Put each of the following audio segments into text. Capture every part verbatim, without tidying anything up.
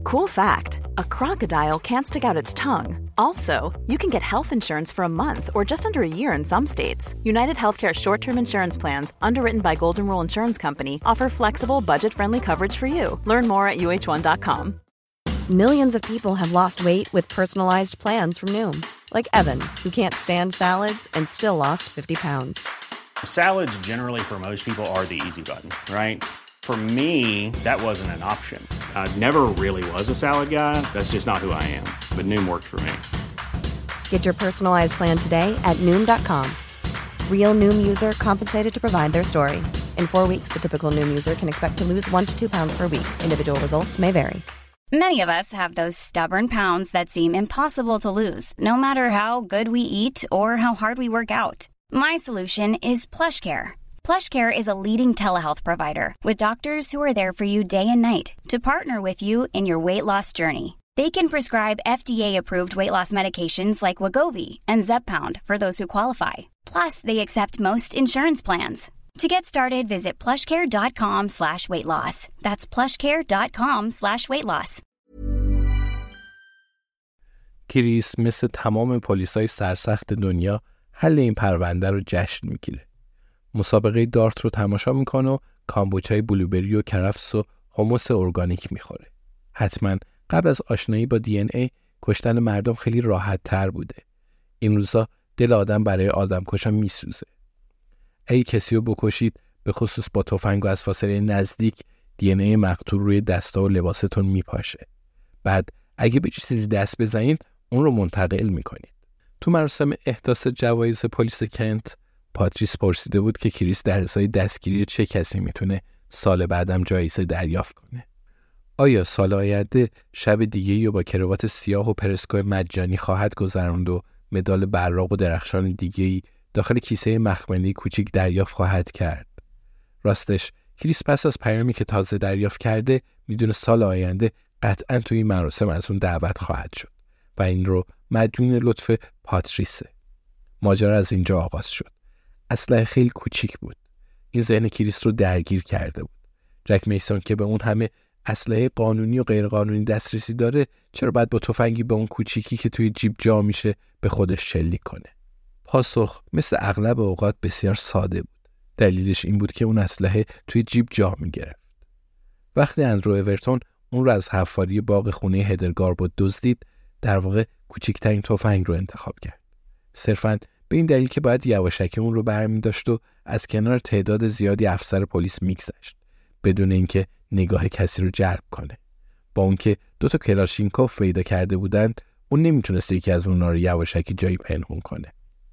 Cool fact, a crocodile can't stick out its tongue. Also, you can get health insurance for a month or just under a year in some states. United Healthcare short-term insurance plans, underwritten by Golden Rule Insurance Company, offer flexible, budget-friendly coverage for you. Learn more at U H one dot com. Millions of people have lost weight with personalized plans from Noom. Like Evan, who can't stand salads and still lost fifty pounds. Salads generally for most people are the easy button, right? For me, that wasn't an option. I never really was a salad guy. That's just not who I am. But Noom worked for me. Get your personalized plan today at Noom dot com. Real Noom user compensated to provide their story. In four weeks, the typical Noom user can expect to lose one to two pounds per week. Individual results may vary. Many of us have those stubborn pounds that seem impossible to lose, no matter how good we eat or how hard we work out. My solution is PlushCare. PlushCare is a leading telehealth provider with doctors who are there for you day and night to partner with you in your weight loss journey. They can prescribe F D A-approved weight loss medications like Wegovy and Zepbound for those who qualify. Plus, they accept most insurance plans. To get started, visit plushcare.com slash weight loss. That's plushcare.com slash weight loss. کریس مثل تمام پلیسای سرسخت دنیا حل این پرونده رو جشن میگیره. مسابقه دارت رو تماشا میکنه و کامبوچای بلوبری و کرفس و حمص ارگانیک میخوره. حتما قبل از آشنایی با دی ان ای کشتن مردم خیلی راحت تر بوده. این روزا دل آدم برای آدم کشا میسوزه. اگه کسی رو بکشید، به خصوص با تفنگ و از فاصله نزدیک، دی ان ای مقتول روی دستا و لباستون میپاشه. بعد اگه به چیزی دست بزنید، اون رو منتقل میکنید. تو مراسم احداث جوایز پلیس کنت، پاتریس پرسیده بود که کریس در ازای دستگیری چه کسی میتونه سال بعدم جایزه دریافت کنه. آیا سال آینده شب دیگه‌ای رو با کراوات سیاه و پرسکو مجانی خواهد گذراند و مدال براق و درخشان دیگه‌ای داخل کیسه مخملی کوچیک دریافت خواهد کرد؟ راستش کریس پس از پیامی که تازه دریافت کرده میدونه سال آینده قطعاً توی این مراسم از اون دعوت خواهد شد و این رو مدیون لطف پاتریسه. ماجرا از اینجا آغاز شد. اسلحه خیلی کوچیک بود. این ذهن کریس رو درگیر کرده بود. جک میسون که به اون همه اسلحه قانونی و غیر قانونی دسترسی داره، چرا باید با تفنگی به اون کوچیکی که توی جیب جا میشه به خودش شلیک کنه؟ پاسخ مثل اغلب اوقات بسیار ساده بود. دلیلش این بود که اون اسلحه توی جیب جا میگرفت. وقتی اندرو اورتون اون رو از حفاری باغ خونه هدرگاربود دزدید، در واقع کوچکترین تفنگ رو انتخاب کرد. صرفاً به این دلیل که باید یواشکی اون رو برمی داشت و از کنار تعداد زیادی افسر پلیس میگذشت بدون اینکه نگاه کسی رو جلب کنه. با اون که دو تا کلاشینکوف پیدا کرده بودند، اون نمیتونست یکی از اونها رو یواشکی جایی پنهون کنه.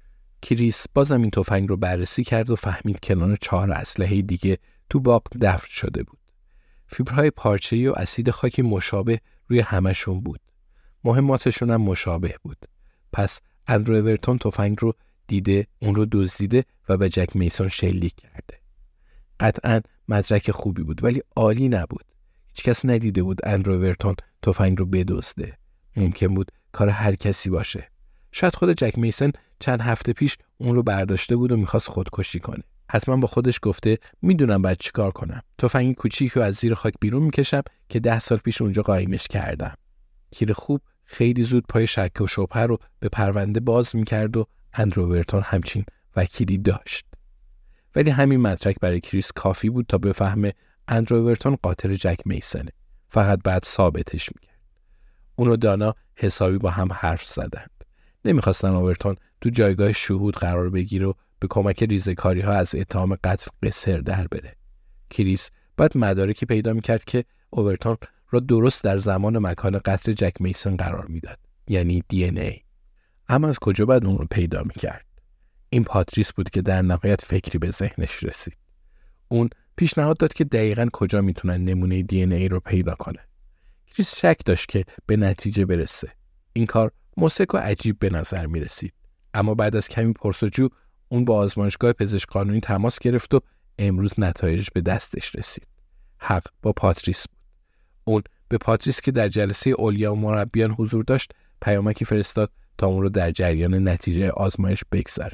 کریس بازم این تفنگ رو بررسی کرد و فهمید کنار چهار اسلحه دیگه تو باغ دفن شده بود. فیبرهای پارچه‌ای و اسید خاکی مشابه روی همشون بود. مهماتشون هم مشابه بود. پس اندرو اورتون تفنگ رو دیده، اون رو دزدیده و به جک میسون شلیک کرده. قطعاً مدرک خوبی بود ولی عالی نبود. هیچ کس ندیده بود اندرو اورتون تفنگ رو بدزده. ممکن بود کار هر کسی باشه. شاید خود جک میسون چند هفته پیش اون رو برداشته بود و میخواست خودکشی کنه. حتما با خودش گفته میدونم باید چی کار کنم. تفنگ کوچیک رو از زیر خاک بیرون میکشم که ده سال پیش اونجا قایمش کردم. تیر خوب خیلی زود پای شک و شبهه رو به پرونده باز میکرد و اندرو اورتون همچین وکیلی داشت. ولی همین مدرک برای کریس کافی بود تا بفهمه اندرو اورتون قاتل جک میسونه. فقط بعد ثابتش میکرد. اون و دانا حسابی با هم حرف زدند. نمیخواستن اورتون تو جایگاه شهود قرار بگیره و به کمک ریزه‌کاری ها از اتهام قتل قصر در بره. کریس بعد مدارکی پیدا میکرد که اورتون را درست در زمان و مکان قتل جک میسون قرار میداد، یعنی دی ان ای. اما از کجا باید اون رو پیدا میکرد؟ این پاتریس بود که در نهایت فکری به ذهنش رسید. اون پیشنهاد داد که دقیقاً کجا میتونن نمونه دی ان ای رو پیدا کنن. کریس شک داشت که به نتیجه برسه. این کار موثق و عجیب به نظر میرسید. اما بعد از کمی پرسجو اون با آزمایشگاه پزشک قانونی تماس گرفت و امروز نتایج به دستش رسید. حق با پاتریس بود. اون به پاتریس که در جلسه اولیا و مربیان حضور داشت پیامکی فرستاد تا اون رو در جریان نتیجه آزمایش بگذاره.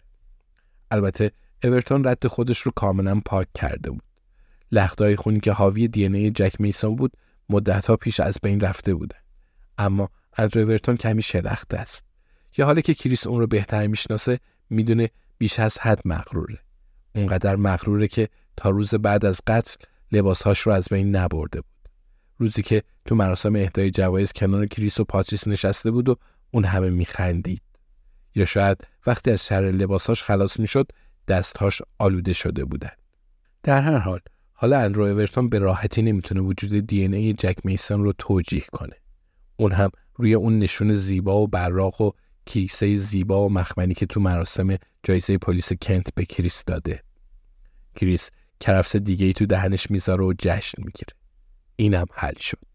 البته اورتون رد خودش رو کاملا پاک کرده بود. لخته‌های خونی که حاوی دی ان ای جک میسون بود مدت‌ها پیش از بین رفته بودن. اما اندرو اورتون کمی شلخته است. یا حالا که کریس اون رو بهتر میشناسه میدونه بیش از حد مغروره. اونقدر مغروره که تا روز بعد از قتل لباسهاش رو از بین نبرده بود. روزی که تو مراسم اهدای جوایز کنار کریس و پاتریس نشسته بود و اون همه میخندید. یا شاید وقتی از شر لباسهاش خلاص میشد دستهاش آلوده شده بودن. در هر حال حالا اندرو اورتون به راحتی نمیتونه وجود دی ان ای جک میسون رو توجیه کنه. اون هم روی اون نشون زیبا و براق و کیسه زیبا و مخملی که تو مراسم جایزه پلیس کنت به کریس داده. کریس کرفس دیگه‌ای تو دهنش میذاره و جشن میگیره. اینم حل شد.